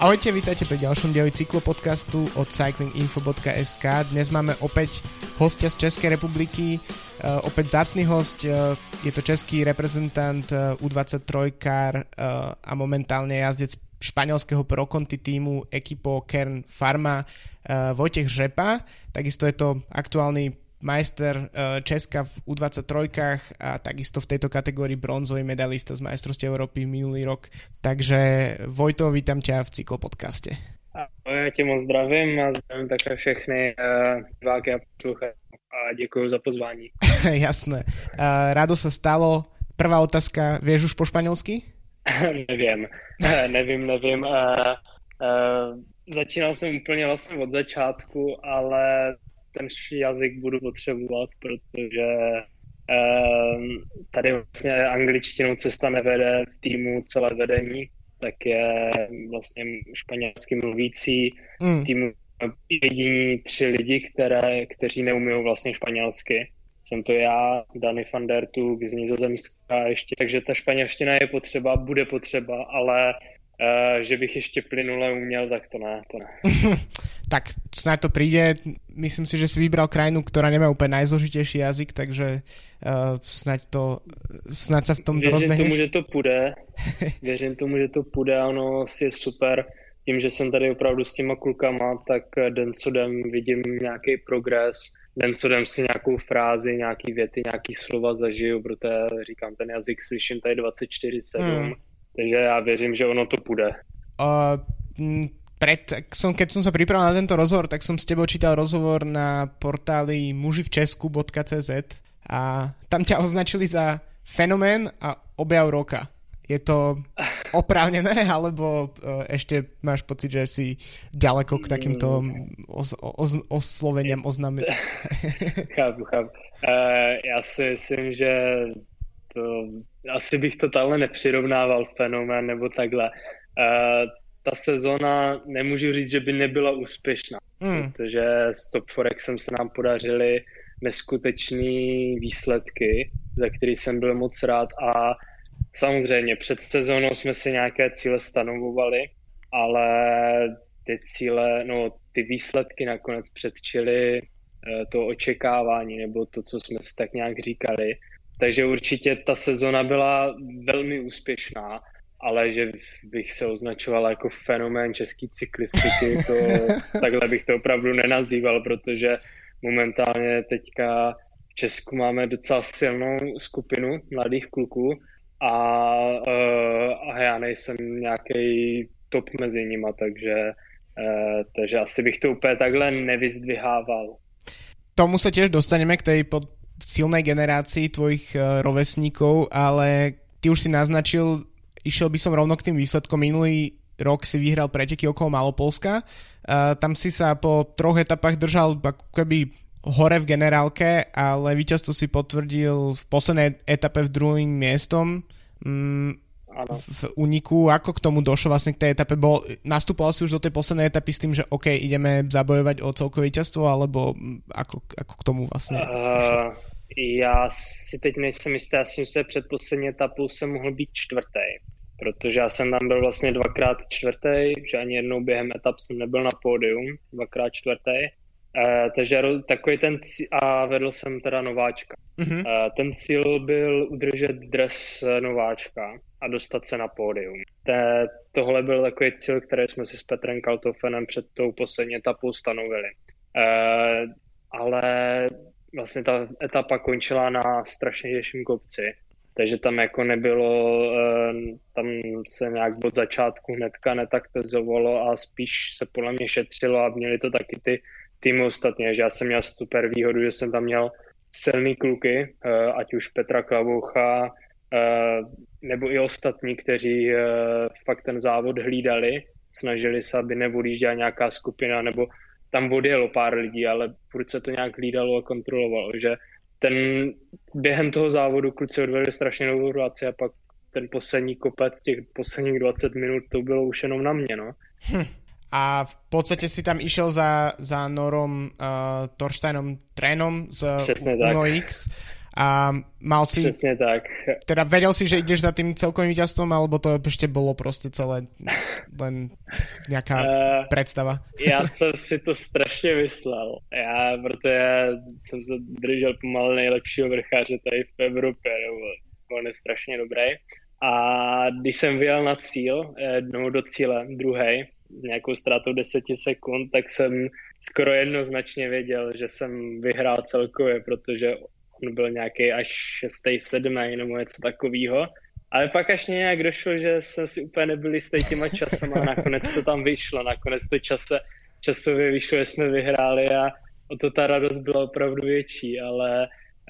Ahojte, vítajte pri ďalšom dieli cyklopodcastu od cyclinginfo.sk. Dnes máme opäť hostia z Českej republiky, opäť vzácny host, je to český reprezentant U23-kár a momentálne jazdec španielského Pro Conti týmu Equipo Kern Pharma Vojtech Řepa. Takisto je to aktuálny majster Česka v U23-kách a takisto v tejto kategórii bronzový medalista z majstrovstiev Európy minulý rok. Takže Vojto, vítam ťa v cyklopodcaste. Já tě moc zdravím a zdravím také všechny diváky a posluchače a děkuji za pozvání. Jasné. Rado sa stalo. Prvá otázka, vieš už po španělsky? Nevím. Začínal jsem úplně vlastně od začátku, ale ten jazyk budu potřebovat, protože tady vlastně angličtinou cesta nevede v týmu celé vedení, tak je vlastně španělsky mluvící týmu jediní 3 lidi, kteří neumí vlastně španělsky. Jsem to já, Dani van der Tug z Nizozemska ještě, takže ta španělština je potřeba, bude potřeba, ale že bych ještě plynule uměl, tak to ne. Tak snáď to príde. Myslím si, že si vybral krajinu, ktorá nemá úplne najzložitejší jazyk, takže snáď sa v tomto rozbehneš. Věřím tomu, že to půjde, ono je super. Tím, že jsem tady opravdu s těma klukama, tak den co den vidím nějaký progres, den co den si nějakou frázi, nějaký věty, nějaký slova zažiju, protože říkám, ten jazyk slyším tady 24/7, takže já věřím, že ono to půjde. Keď som sa pripravil na tento rozhovor, tak som s tebou čítal rozhovor na portáli muživčesku.cz a tam ťa označili za fenomén a objav roka. Je to oprávnené, alebo ešte máš pocit, že si ďaleko k takýmto osloveniam oznámení? Chápu. Já si myslím, že asi bych to takhle nepřirovnával fenomén nebo takhle. Ta sezona, nemůžu říct, že by nebyla úspěšná, protože s Top Forexem se nám podařily neskutečné výsledky, za který jsem byl moc rád a samozřejmě před sezónou jsme si nějaké cíle stanovovali, ale ty výsledky nakonec předčily to očekávání nebo to, co jsme si tak nějak říkali. Takže určitě ta sezona byla velmi úspěšná, ale že bych se označoval jako fenomén české cyklistiky, to takhle bych to opravdu nenazýval, protože momentálně teďka v Česku máme docela silnou skupinu mladých kluků a já nejsem nějaký top mezi nima, takže asi bych to úplně takhle nevyzdvihával. Tomu sa tiež dostaneme k tej silnej generácii tvojich rovesníkov, ale ty už si naznačil, išiel by som rovno k tým výsledkom. Minulý rok si vyhral preteky okolo Malopolska. Tam si sa po 3 etapách držal ako keby hore v generálke, ale víťazstvo si potvrdil v poslednej etape v druhým miestom v úniku. Ako k tomu došlo vlastne k tej etape? Nastupoval si už do tej poslednej etapy s tým, že OK, ideme zabojovať o celkové víťazstvo, alebo ako k tomu vlastne Já si teď nejsem jistý, já jsem se před poslední etapou jsem mohl být 4. Protože já jsem tam byl vlastně 2x 4, že ani jednou během etap jsem nebyl na pódium, 2x 4. Takže takový ten a vedl jsem teda nováčka. Ten cíl byl udržet dres nováčka a dostat se na pódium. Tohle byl takový cíl, který jsme si s Petrem Kaltofenem před tou poslední etapou stanovili. Ale vlastně ta etapa končila na strašně těžším kopci, takže tam jako nebylo, tam se nějak od začátku hnedka netaktizovalo a spíš se podle mě šetřilo a měli to taky ty týmy ostatně, že já jsem měl super výhodu, že jsem tam měl silný kluky, ať už Petra Klavoucha, nebo i ostatní, kteří fakt ten závod hlídali, snažili se, aby neodjížděla nějaká skupina, nebo tam odjelo pár lidí, ale furt se to nějak hlídalo a kontrolovalo, že během toho závodu kluci odvedli strašně novou práci a pak ten poslední kopec, těch posledních 20 minut, to bylo už jenom na mě, no. A v podstate si tam išiel za Norom Torsteinom Trénom z Uno X A mal si... Přesně tak. Teda vedel si, že ideš za tým celkovým víťazstvom, alebo to ešte bolo proste celé len nejaká predstava? Já jsem si to strašně myslel. Protože jsem se držel pomalu nejlepšího vrcháře tady v Evropě, nebo on je strašně dobrý. A když jsem vyjel na cíl, do cíle, druhej, nějakou ztrátou 10 sekund, tak jsem skoro jednoznačně věděl, že jsem vyhrál celkově, protože on byl nějaký až 6., 7. nebo něco takového. Ale pak až nějak došlo, že jsem si úplně nebyl jistý těma časem a nakonec to tam vyšlo. Nakonec to časově vyšlo, že jsme vyhráli a o to ta radost byla opravdu větší, ale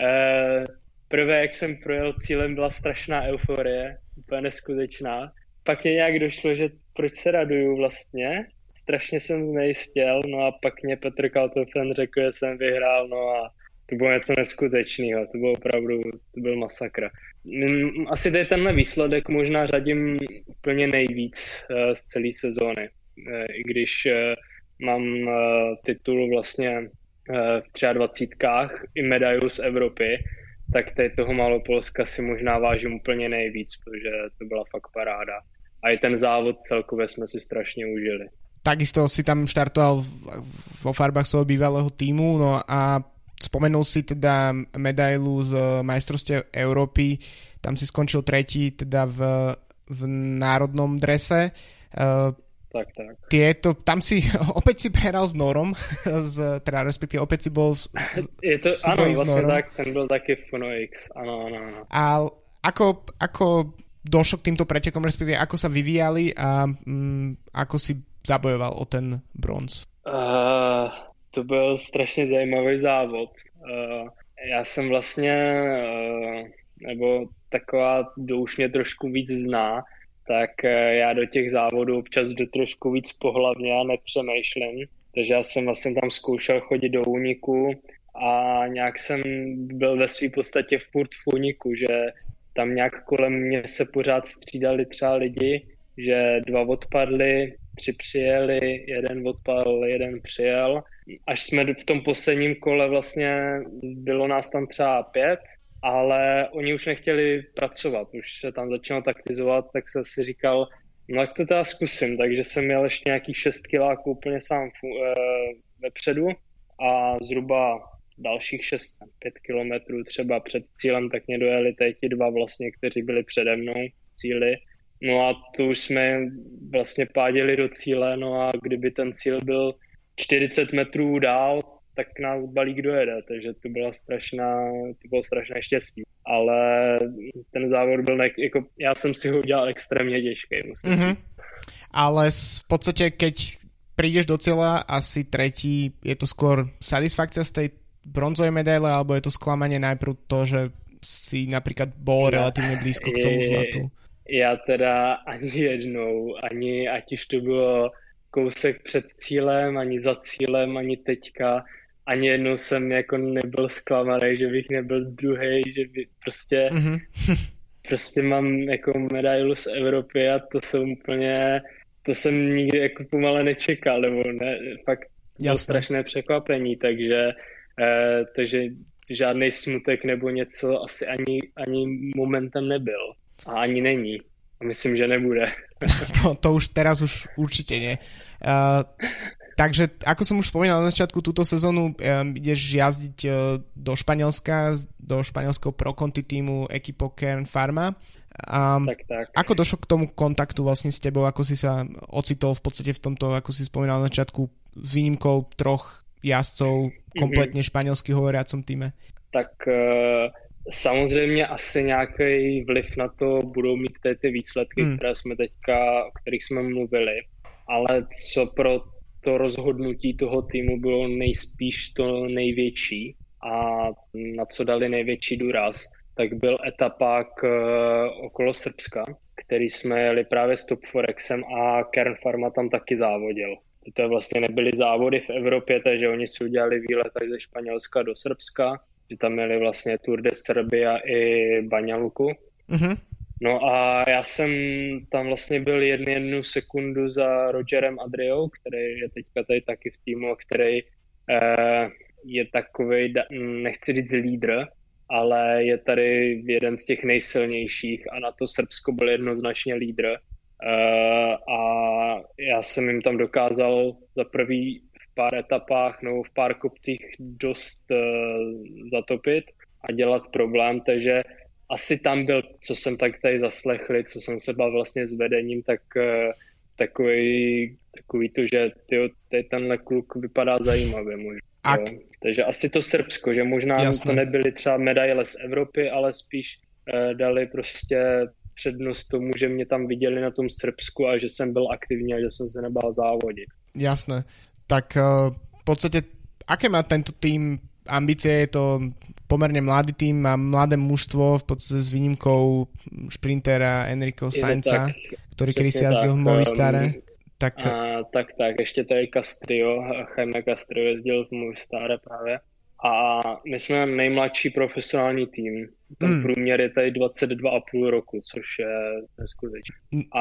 prvé, jak jsem projel cílem, byla strašná euforie, úplně neskutečná. Pak mě nějak došlo, že proč se raduju vlastně. Strašně jsem znejistěl, no a pak mě Petr Kaltofen řekl, že jsem vyhrál, no a to bylo něco neskutečného, to bylo opravdu, to byl masakr. Asi tady tenhle výsledek možná řadím úplně nejvíc z celé sezóny, i když mám titul vlastně v 23 i medailu z Evropy, tak tady toho Malopolska si možná vážím úplně nejvíc, protože to byla fakt paráda. A i ten závod celkově jsme si strašně užili. Takisto si tam štartoval vo farbách svojho bývalého týmu, no a spomenul si teda medailu z majstrovstiev Európy, tam si skončil tretí teda v národnom drese. Tak. Tam si opäť si prehral s Norom, teda respektíve opäť si bol áno, vlastne tak, ten byl taky v Funo X, áno. A ako došlo k týmto pretekom, respektíve ako sa vyvíjali a ako si zabojoval o ten bronz? To byl strašně zajímavý závod. Já jsem vlastně, nebo taková, kdo už mě trošku víc zná, tak já do těch závodů občas jdu trošku víc pohlavně a nepřemýšlím. Takže já jsem vlastně tam zkoušel chodit do úniku a nějak jsem byl ve své podstatě furt v úniku, že tam nějak kolem mě se pořád střídali třeba lidi, že 2 odpadli, 3 přijeli, 1 odpadl, 1 přijel. Až jsme v tom posledním kole vlastně, bylo nás tam třeba 5, ale oni už nechtěli pracovat, už se tam začalo taktizovat, tak jsem si říkal, no tak to teda zkusím, takže jsem měl ještě nějakých 6 kiláků úplně sám vepředu a zhruba dalších 5 kilometrů třeba před cílem, tak mě dojeli ti 2 vlastně, kteří byli přede mnou cíli. No a tu už jsme vlastně páděli do cíle, no a kdyby ten cíl byl 40 metrů dál, tak nás balík dojede, takže to bylo strašné štěstí. Ale ten závod byl, jako, já jsem si ho udělal extrémně těžký, musím říct. Ale v podstate, keď prídeš do cieľa a si tretí, je to skôr satisfakcia z tej bronzovej medaile, alebo je to sklamanie najprv to, že si napríklad bol relatívne blízko k tomu zlatu? Já teda ani jednou, ať už to bylo kousek před cílem, ani za cílem, ani teďka, ani jednou jsem jako nebyl zklamaný, že bych nebyl druhý, že by prostě mám jako medailu z Evropy a to jsem nikdy jako pomale nečekal, nebo ne, fakt bylo strašné překvapení, takže žádný smutek nebo něco asi ani momentem nebyl. A ani není. Myslím, že nebude. To už teraz už určite nie. Takže, ako som už spomínal na začiatku, túto sezónu ideš jazdiť do Španielska, do španielského Pro Conti týmu Equipo Kern Pharma. Tak. Ako došlo k tomu kontaktu vlastne s tebou? Ako si sa ocitol v podstate v tomto, ako si spomínal na začiatku, s výnimkou 3 jazdcov kompletne španielsky hovoriacom týme? Tak samozřejmě asi nějaký vliv na to budou mít ty výsledky, které jsme o kterých jsme mluvili, ale co pro to rozhodnutí toho týmu bylo nejspíš to největší a na co dali největší důraz, tak byl etapák okolo Srbska, který jsme jeli právě s Top Forexem a Kern Pharma tam taky závodil. To vlastně nebyly závody v Evropě, takže oni si udělali výlet ze Španělska do Srbska, že tam měli vlastně Tour de Serbia i Banja Luku. No a já jsem tam vlastně byl jednu sekundu za Rogerem Adriou, který je teďka tady taky v týmu, který je takovej, nechci říct lídr, ale je tady jeden z těch nejsilnějších a na to Srbsko byl jednoznačně lídr. A já jsem jim tam dokázal za prvý v pár etapách nebo v pár kopcích dost zatopit a dělat problém, takže asi tam byl, co jsem tak tady zaslechli, co jsem se bavil vlastně s vedením, tak takový to, že tenhle kluk vypadá zajímavě možná. Takže asi to Srbsko, že možná to nebyly třeba medaile z Evropy, ale spíš dali prostě přednost tomu, že mě tam viděli na tom Srbsku a že jsem byl aktivní a že jsem se nebál závodit. Jasné. Tak v podstate, aké má tento tým ambície? Je to pomerne mladý tým, má mladé mužstvo, v podstate s výnimkou šprintera Enrico Sainza, ktorý kedysi jazdil v Movistare. Tak, ještě tady Castrio, Jaime Castrio jezdil v Movistare právě. A my jsme nejmladší profesionální tým. Ten průměr je tady 22,5 roku, což je neskutečné. A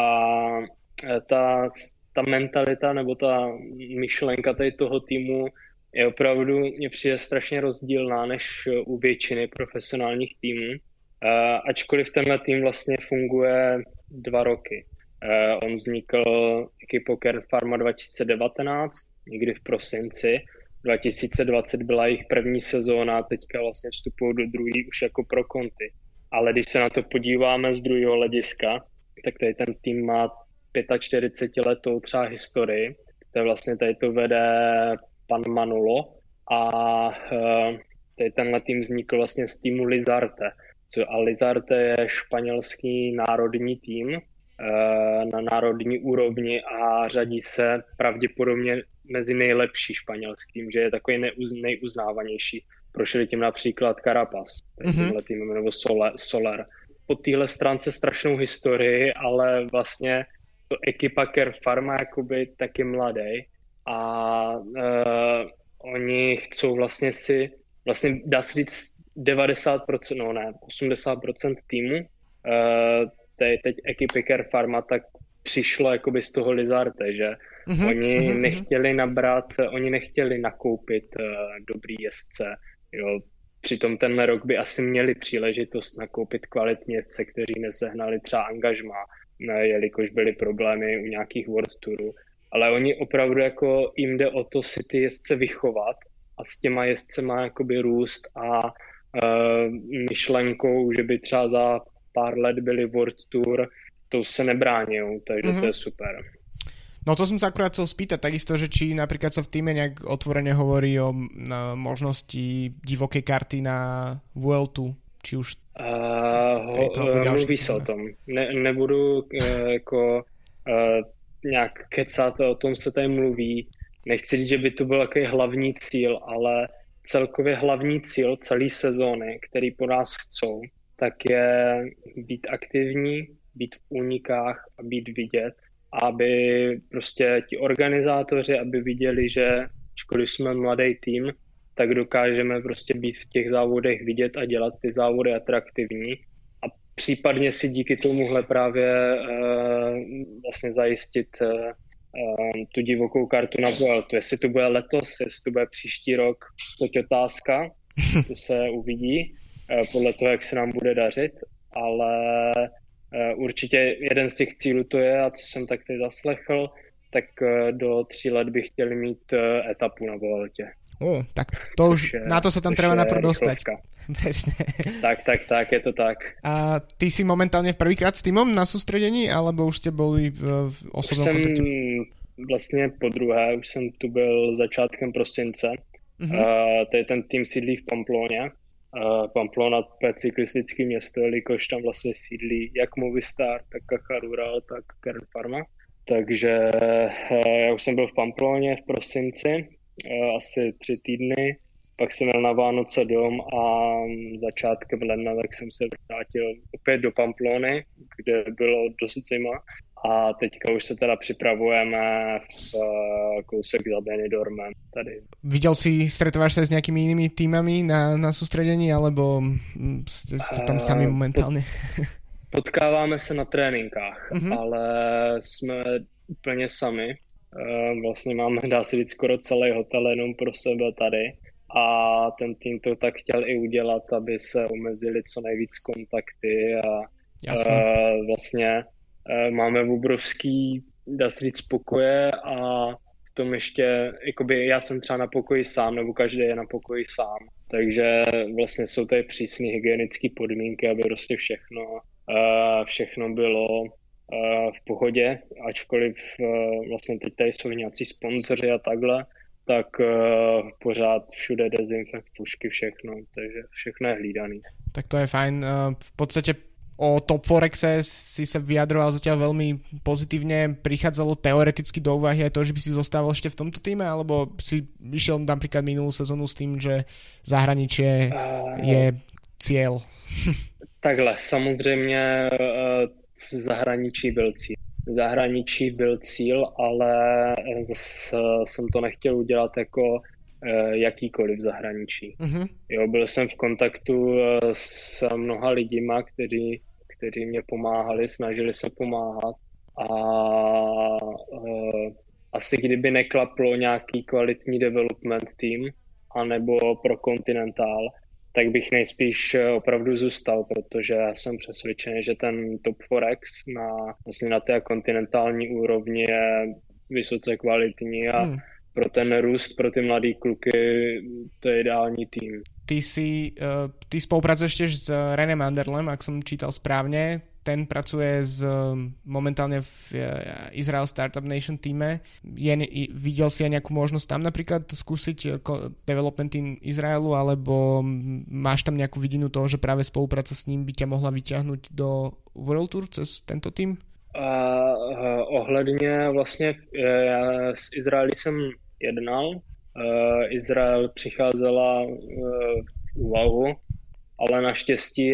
ta mentalita nebo ta myšlenka tady toho týmu je opravdu, mně přijde strašně rozdílná než u většiny profesionálních týmů. Ačkoliv tenhle tým vlastně funguje 2 roky. On vznikl ekipou Kern Pharma 2019, někdy v prosinci. 2020 byla jejich první sezóna a teďka vlastně vstupují do druhý už jako pro Conti. Ale když se na to podíváme z druhého hlediska, tak tady ten tým má 45 letou třeba historii. To je vlastně tady to vede pan Manolo a tady tenhle tým vznikl vlastně z týmu Lizarte. A Lizarte je španělský národní tým na národní úrovni a řadí se pravděpodobně mezi nejlepší španělským, že je takový nejuznávanější. Prošli tím například Carapaz, tímhle týmem, nebo Soler. Po téhle stránce strašnou historii, ale vlastně to ekipa Kern Pharma jakoby taky mladý a oni chcou vlastně dá se říct 90%, no ne, 80% týmu teď ekipy Kern Pharma tak přišlo jakoby z toho Lizarte, že oni nechtěli nakoupit dobrý jezdce, jo. Přitom tenhle rok by asi měli příležitost nakoupit kvalitní jezdce, kteří nesehnali třeba angažmá, jelikož byly problémy u nějakých World Tourů. Ale oni opravdu jako jim jde o to si ty jezdce vychovat a s těma jezdcema jakoby růst a myšlenkou, že by třeba za pár let byli World Tour, to se nebráňujú, takže to je super. No to som sa akurát chcel spýtať takisto, že či napríklad sa v týme nejak otvorene hovorí o možnosti divokej karty na Vueltu, či už mluví sa o tom. Nebudu nějak kecat, o tom se tady mluví. Nechci říct, že by to byl takový hlavní cíl, ale celkově hlavní cíl celé sezóny, který po nás chcou, tak je být aktivní, být v únikách a být vidět, aby prostě ti organizátoři, aby viděli, že ačkoliv jsme mladý tým, tak dokážeme prostě být v těch závodech vidět a dělat ty závody atraktivní a případně si díky tomuhle právě vlastně zajistit tu divokou kartu na Vueltu. Jestli to bude letos, jestli to bude příští rok, to je otázka, to se uvidí podle toho, jak se nám bude dařit, ale určitě jeden z těch cílů to je, a co jsem tak teď zaslechl, tak do 3 let bych chtěli mít etapu na Vueltě. Tak to už, na to sa tam treba najprv dostať. Presne. Tak, je to tak. A ty si momentálne prvýkrát s týmom na sústredení, alebo už ste boli v osobnom kontakte? Vlastně po druhé, už jsem tu byl začátkem prosince. Tady ten tým sídlí v Pamploně. Pamplona je cyklistické město, jelikož tam vlastně sídlí jak Movistar, tak Caja Rural, tak Kern Pharma. Takže já už jsem byl v Pamploně v prosinci, asi 3 týdny, pak jsem jel na Vánoce dom a začátkem ledna tak jsem se vrátil opět do Pamplony, kde bylo dost zima a teďka už se teda připravujeme v kousek za Benidormem tady. Stretávaš sa s nejakými inými týmami na sústredení, alebo ste tam sami momentálne? Potkáváme se na tréninkách, ale jsme úplně sami. Vlastně máme, dá se říct, skoro celý hotel jenom pro sebe tady a ten tým to tak chtěl i udělat, aby se omezili co nejvíc kontakty a vlastně máme obrovský, dá se říct, pokoje a v tom ještě, jakoby já jsem třeba na pokoji sám, nebo každý je na pokoji sám, takže vlastně jsou tady přísné hygienické podmínky, aby prostě všechno bylo v pohodě, ačkoliv vlastně teď tady jsou nějací sponzoři a takhle, tak pořád všude dezinfekčky, všechno, takže všechno je hlídaný. Tak to je fajn. V podstate o Top Forexe si sa vyjadroval zatiaľ veľmi pozitívne. Prichádzalo teoreticky do úvahy aj to, že by si zostával ešte v tomto týme, alebo si išiel napríklad minulú sezónu s tým, že zahraničie je cieľ? Takhle, samozřejmě zahraničí byl cíl, ale zase jsem to nechtěl udělat jako jakýkoliv zahraničí. Jo, byl jsem v kontaktu s mnoha lidima, kteří mě pomáhali, snažili se pomáhat a asi kdyby neklaplo nějaký kvalitní development tým anebo pro kontinentál, tak bych nejspíš opravdu zůstal, protože já jsem přesvědčený, že ten Top Forex na té kontinentální úrovni je vysoce kvalitní a pro ten růst, pro ty mladý kluky to je ideální tým. Ty spolupracuješ tiež s Renem Anderlem, ak som čítal správne. Ten pracuje momentálne v Israel Startup Nation týme. Videl si aj nejakú možnosť tam napríklad skúsiť development tým Izraelu, alebo máš tam nejakú vidinu toho, že práve spolupráca s ním by ťa mohla vyťahnuť do World Tour cez tento tým? Ohledně vlastně já s Izraelí jsem jednal. Izrael přicházela v úvahu, ale naštěstí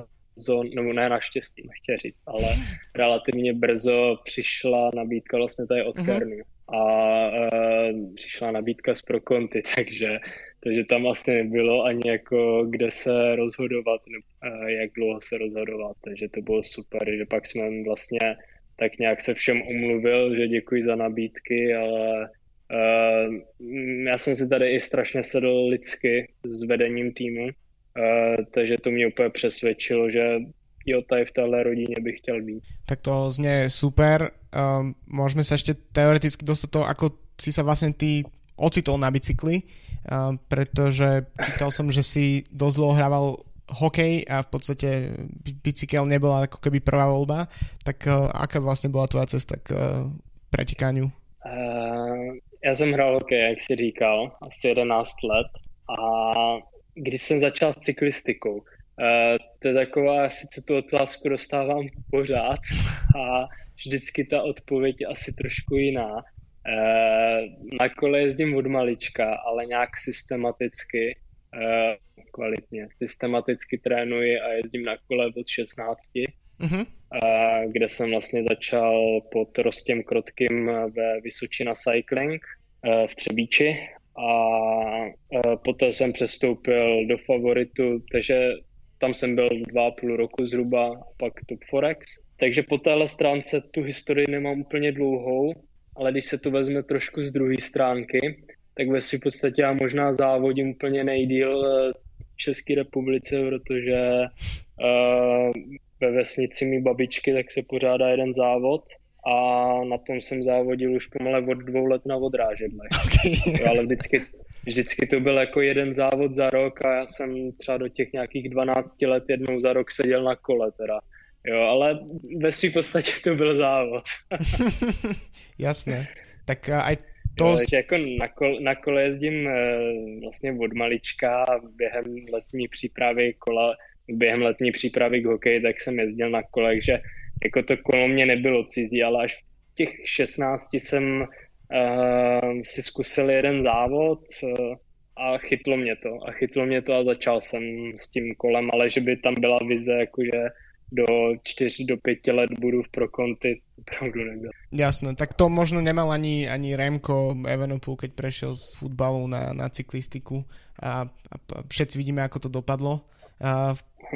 relativně brzo přišla nabídka vlastně tady od Kernu a přišla nabídka z Pro Conti, takže tam asi nebylo ani jako kde se rozhodovat, jak dlouho se rozhodovat, takže to bylo super, že pak jsme vlastně tak nějak se všem omluvil, že děkuji za nabídky, ale já jsem si tady i strašně sedl lidsky s vedením týmu, takže to mě úplně přesvědčilo, že jo, tady v téhle rodině bych chtěl být. Tak to znie super. Môžeme sa ešte teoreticky dostať toho, ako si sa vlastne ty ocitol na bicykli, pretože čítal som, že si dosť dlho hrával hokej a v podstate bicykel nebola ako keby prvá voľba. Tak aká vlastne bola tvoja cesta k pretekaniu? Já jsem hrál hokej, jak jsi říkal, asi 11 let a když jsem začal s cyklistikou, to je taková, sice tu otázku dostávám pořád a vždycky ta odpověď je asi trošku jiná. Na kole jezdím od malička, ale nějak systematicky, kvalitně, systematicky trénuji a jezdím na kole od 16, kde jsem vlastně začal pod Rostěm Krotkým ve Vysočina Cycling v Třebíči a poté jsem přestoupil do Favoritu, takže tam jsem byl 2,5 roku zhruba a pak Top Forex. Takže po téhle stránce tu historii nemám úplně dlouhou, ale když se to vezme trošku z druhé stránky, tak ve v podstatě já možná závodím úplně nejdýl v České republice, protože ve vesnici mý babičky tak se pořádá jeden závod a na tom jsem závodil už pomale od 2 let na odrážedlech. Okay. Ale vždycky to byl jako jeden závod za rok a já jsem třeba do těch nějakých 12 let jednou za rok seděl na kole teda. Jo, ale ve svým podstatě to byl závod. Jasné. Tak aj to... Takže jako na kole jezdím vlastně od malička během letní přípravy k hokeji, tak jsem jezdil na kole, takže jako to kolo mě nebylo cizí, ale až v těch 16 jsem si zkusil jeden závod a chytlo mě to a začal jsem s tím kolem, ale že by tam byla vize, jakože do 4 do 5 let budu v Pro Conti, opravdu nebyl. Jasné, tak to možno nemal ani Remko Evenepoel, keď prešiel z futbalu na cyklistiku a všetci vidíme, ako to dopadlo.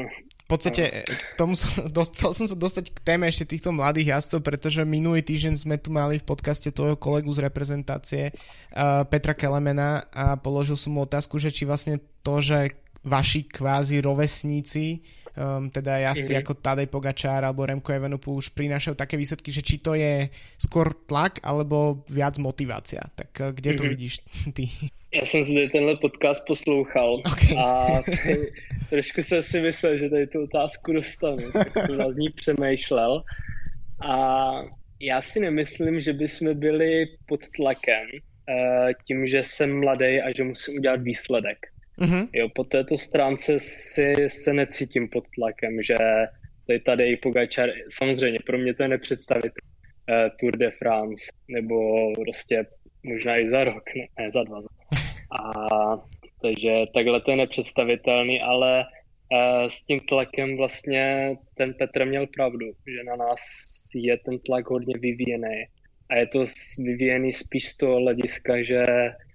V podstate chcel som sa dostať k téme ešte týchto mladých jazdcov, pretože minulý týždeň sme tu mali v podcaste tvojho kolegu z reprezentácie Petra Kelemena a položil som mu otázku, že či vlastne to, že vaši kvázi rovesníci, teda jazdci ako Tadej Pogačár alebo Remco Evenepoel už prinášajú také výsledky, že či to je skôr tlak alebo viac motivácia. Tak kde to vidíš ty? Já jsem si tenhle podcast poslouchal a trošku jsem si myslel, že tady tu otázku dostanu, tak jsem nad ní přemýšlel a já si nemyslím, že bychom byli pod tlakem tím, že jsem mladý a že musím udělat výsledek. Jo, po této stránce se necítím pod tlakem, že tady i Pogačar, samozřejmě pro mě to je nepředstavitelné, Tour de France, nebo prostě možná i za rok, ne za 2. Takže takhle to je nepředstavitelný, ale s tím tlakem vlastně ten Petr měl pravdu, že na nás je ten tlak hodně vyvíjený. A je to vyvíjený spíš z toho hlediska, že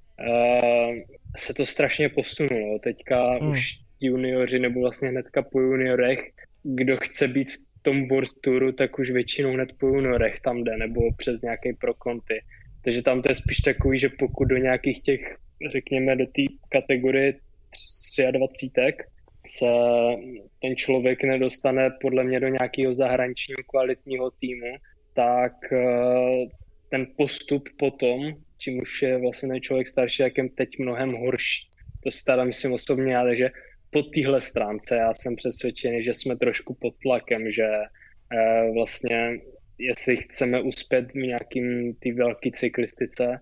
se to strašně posunulo. Teďka už junioři, nebo vlastně hnedka po juniorech, kdo chce být v tom World Touru, tak už většinou hned po juniorech tam jde, nebo přes nějaký pro konty. Takže tam to je spíš takový, že pokud do nějakých těch, řekněme, do té kategorie 23 se ten člověk nedostane podle mě do nějakého zahraničního kvalitního týmu, tak ten postup potom, čím už je vlastně ten člověk starší, jak je teď mnohem horší. To si teda myslím osobně, ale že po téhle stránce já jsem přesvědčený, že jsme trošku pod tlakem, že vlastně jestli chceme uspět v nějakým té velké cyklistice,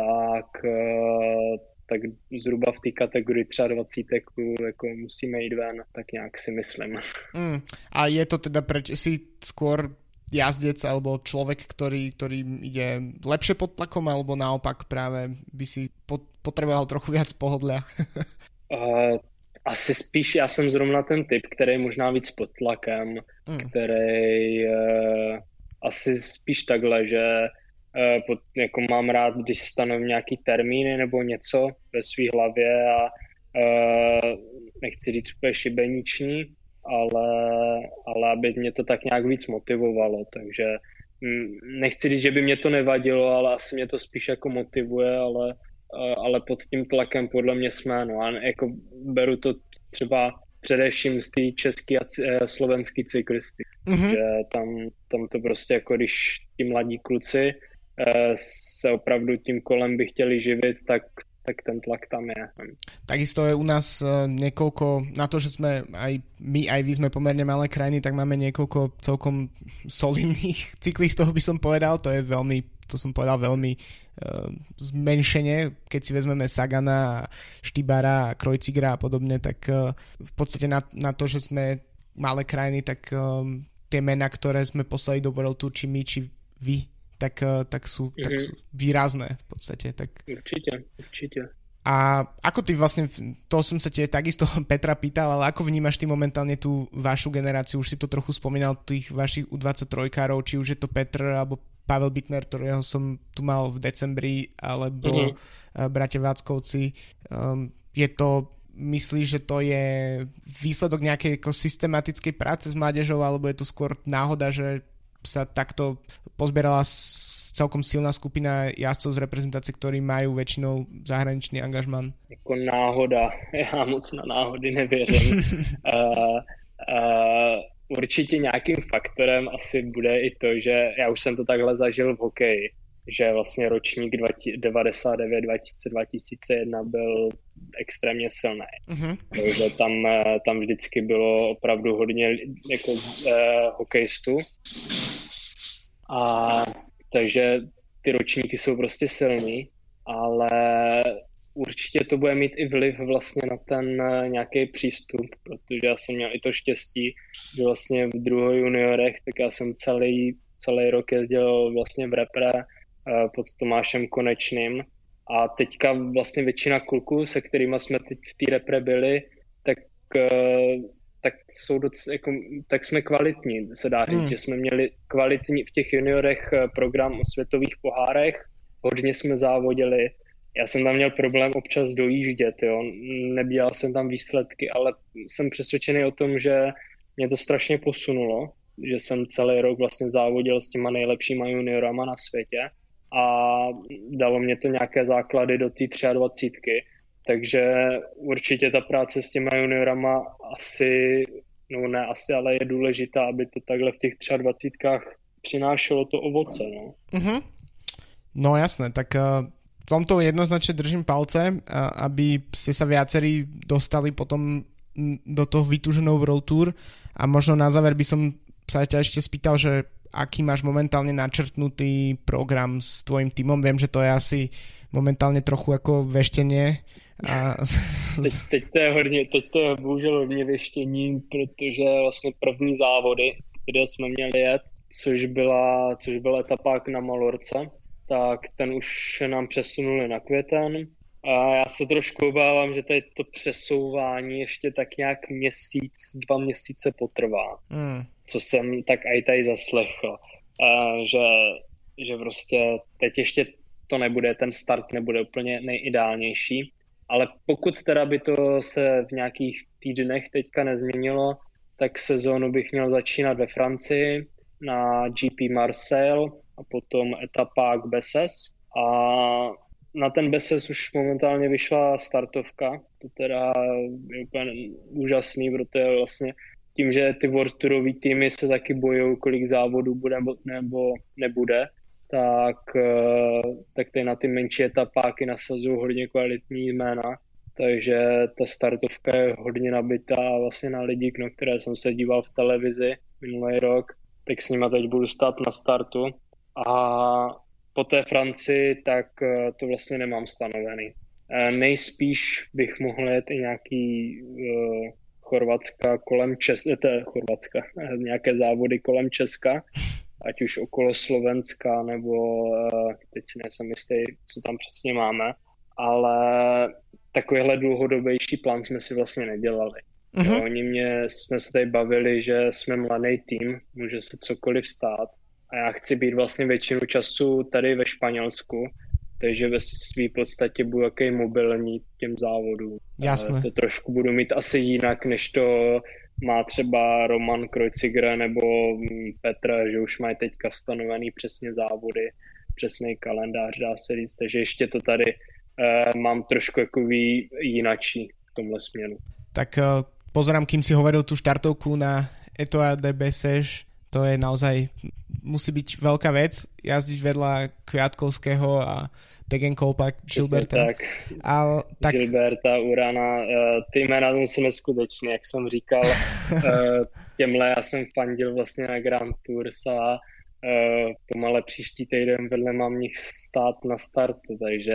tak zhruba v té kategorii 23 jako musíme jít ven, tak nějak si myslím. A je to teda si skôr jazdec alebo človek, ktorý ide lepšie pod tlakom, alebo naopak práve by si potreboval trochu viac pohodlia? Asi spíš já jsem zrovna ten typ, který je možná víc pod tlakem, který asi spíš takhle, že jako mám rád, když stanovím nějaký termíny nebo něco ve své hlavě a nechci říct úplně šibeniční, ale aby mě to tak nějak víc motivovalo, takže nechci říct, že by mě to nevadilo, ale asi mě to spíš jako motivuje, ale pod tím tlakem podle mě jsme, no a jako beru to třeba především z té české a slovenské cyklisty, že tam to prostě jako když ti mladí kluci se opravdu tím kolem by chtěli živit, tak ten tlak tam je. Takisto je u nás niekoľko, na to, že sme aj my, aj vy sme pomerne malé krajiny, tak máme niekoľko celkom solidných cyklistov, by som povedal, to som povedal veľmi zmenšenie, keď si vezmeme Sagana, Štybara, Kreuzigra a podobne, tak v podstate na to, že sme malé krajiny, tak tie mená, ktoré sme poslali do World Tour, či my, či vy, tak sú výrazné v podstate. Tak... Určite. A ako ty vlastne, to som sa takisto Petra pýtal, ale ako vnímaš ty momentálne tú vašu generáciu? Už si to trochu spomínal, tých vašich U23-károv, či už je to Petr alebo Pavel Bittner, ktorého som tu mal v decembri, alebo bratia Váckovci. Je to, myslíš, že to je výsledok nejakej ako systematickej práce s mládežou, alebo je to skôr náhoda, že sa takto pozbierala celkom silná skupina jazdcov z reprezentácie, ktorí majú väčšinou zahraničný angažman? Jako náhoda. Já moc na náhody nevěřím. Určitě nějakým faktorem asi bude i to, že já už jsem to takhle zažil v hokeji, že vlastně ročník 99, 2000, 2001 byl extrémně silný. Takže tam vždycky bylo opravdu hodně jako hokejistů. A takže ty ročníky jsou prostě silný, ale určitě to bude mít i vliv vlastně na ten nějaký přístup, protože já jsem měl i to štěstí, že vlastně v druhé juniorech, tak já jsem celý rok jezdil vlastně v repre pod Tomášem Konečným a teďka vlastně většina kluků, se kterými jsme teď v té repre byli, tak jsme kvalitní, se dá říct, že jsme měli kvalitní v těch juniorech program o světových pohárech, hodně jsme závodili, já jsem tam měl problém občas dojíždět, jo, nedělal jsem tam výsledky, ale jsem přesvědčený o tom, že mě to strašně posunulo, že jsem celý rok vlastně závodil s těma nejlepšíma juniorama na světě a dalo mě to nějaké základy do té 23. Takže určitě ta práce s těma juniorama asi, no ne asi, ale je důležitá, aby to takhle v těch 23 přinášelo to ovoce. No, no jasné, tak v tomto jednoznačne držím palce, aby ste sa viacerí dostali potom do toho vytúženého World Tour a možno na záver by som sa ťa ešte spýtal, že aký máš momentálne načrtnutý program s tvojim tímom. Viem, že to je asi momentálne trochu ako veštenie. A... teď to je bohužel hodně věštění, protože vlastně první závody, kde jsme měli jet, což byl etapák na Malorce, tak ten už nám přesunuli na květen. A já se trošku obávám, že tady to přesouvání ještě tak nějak 2 měsíce potrvá. Co jsem tak i tady zaslechl. Že prostě teď ještě to nebude, ten start nebude úplně nejideálnější. Ale pokud teda by to se v nějakých týdnech teďka nezměnilo, tak sezónu bych měl začínat ve Francii na GP Marseille a potom etapák Besses. A na ten Besses už momentálně vyšla startovka. To teda je úplně úžasný, protože vlastně tím, že ty World Tourový týmy se taky bojují, kolik závodů bude nebo nebude, tak tady na ty menší etapáky nasazují hodně kvalitní jména. Takže ta startovka je hodně nabitá vlastně na lidi, na které jsem se díval v televizi minulý rok, tak s nima teď budu stát na startu. A po té Francii tak to vlastně nemám stanovený. Nejspíš bych mohl jet i nějaký Chorvatska kolem Chorvatska, nějaké závody kolem Česka, ať už okolo Slovenska, nebo teď si nejsem jistý, co tam přesně máme, ale takovýhle dlouhodobější plán jsme si vlastně nedělali. Jsme se tady bavili, že jsme mladý tým, může se cokoliv stát a já chci být vlastně většinu času tady ve Španělsku, takže ve své podstatě budu jaký mobilní těm závodům. Jasné. To trošku budu mít asi jinak, než to má třeba Roman Kreuziger nebo Petr, že už mají teďka stanovený přesně závody, přesný kalendář, dá se říct, takže ještě to tady mám trošku jakový jinačí v tomhle směru. Tak pozerám, kým si hovoril tú štartovku na Etoile de Bessèges, to je naozaj, musí byť veľká vec, jazdiť vedľa Kviatkovského a Degenkolpa, Gilberta. Tak. Gilberta, Urana, ty jména jsou neskutečné, jak jsem říkal, těmhle já jsem fandil vlastně na Grand Tours a pomale příští týden vedle mám nich stát na startu, takže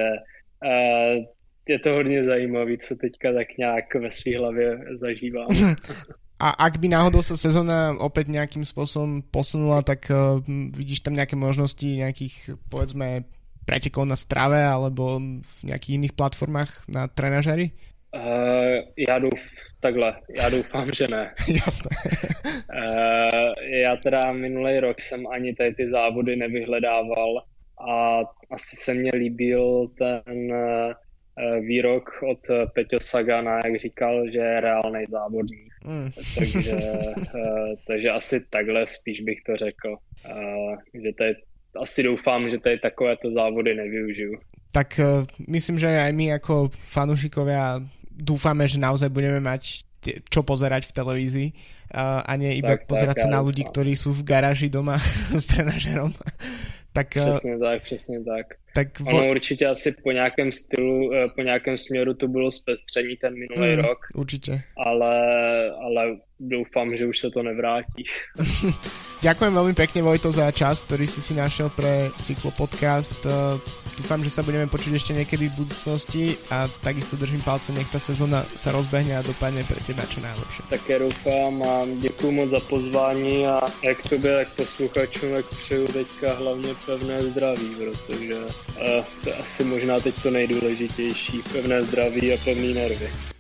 je to hodně zajímavý, co teďka tak nějak ve svý hlavě zažívám. A ak by náhodou sa sezóna opäť nejakým spôsobom posunula, tak vidíš tam nejaké možnosti nejakých, povedzme, pretekov na strave alebo v nejakých iných platformách na trenažery? Já doufám, že ne. Jasné. Já teda minulý rok jsem ani tady ty závody nevyhledával a asi se mně líbil ten výrok od Peťo Sagana, jak říkal, že je reálnej závodník. Takže asi takhle spíš bych to řekl. Že tady, asi doufám, že tady takovéto závody nevyužiju. Tak myslím, že aj my ako fanúšikovia dúfame, že naozaj budeme mať čo pozerať v televízii a nie iba pozerať sa na ľudí, ktorí sú v garáži doma s trenažerom. Tak, přesně tak. Ono určitě asi po nějakém stylu, po nějakém směru to bylo zpestření ten minulý rok. Určitě. Ale doufám, že už se to nevrátí. Ďakujem veľmi pekne, Vojto, za čas, ktorý si našiel pre Cyklopodcast. Dúfam, že sa budeme počuť ešte niekedy v budúcnosti a takisto držím palce, nech tá sezóna sa rozbehne a dopadne pre teba čo najlepšie. Také doufám a děkuju moc za pozvání a jak tobě, tak posluchačům, tak přeju teďka hlavně pevné zdraví, protože to je asi možná teď to nejdůležitější, pevné zdraví a pevný nervy.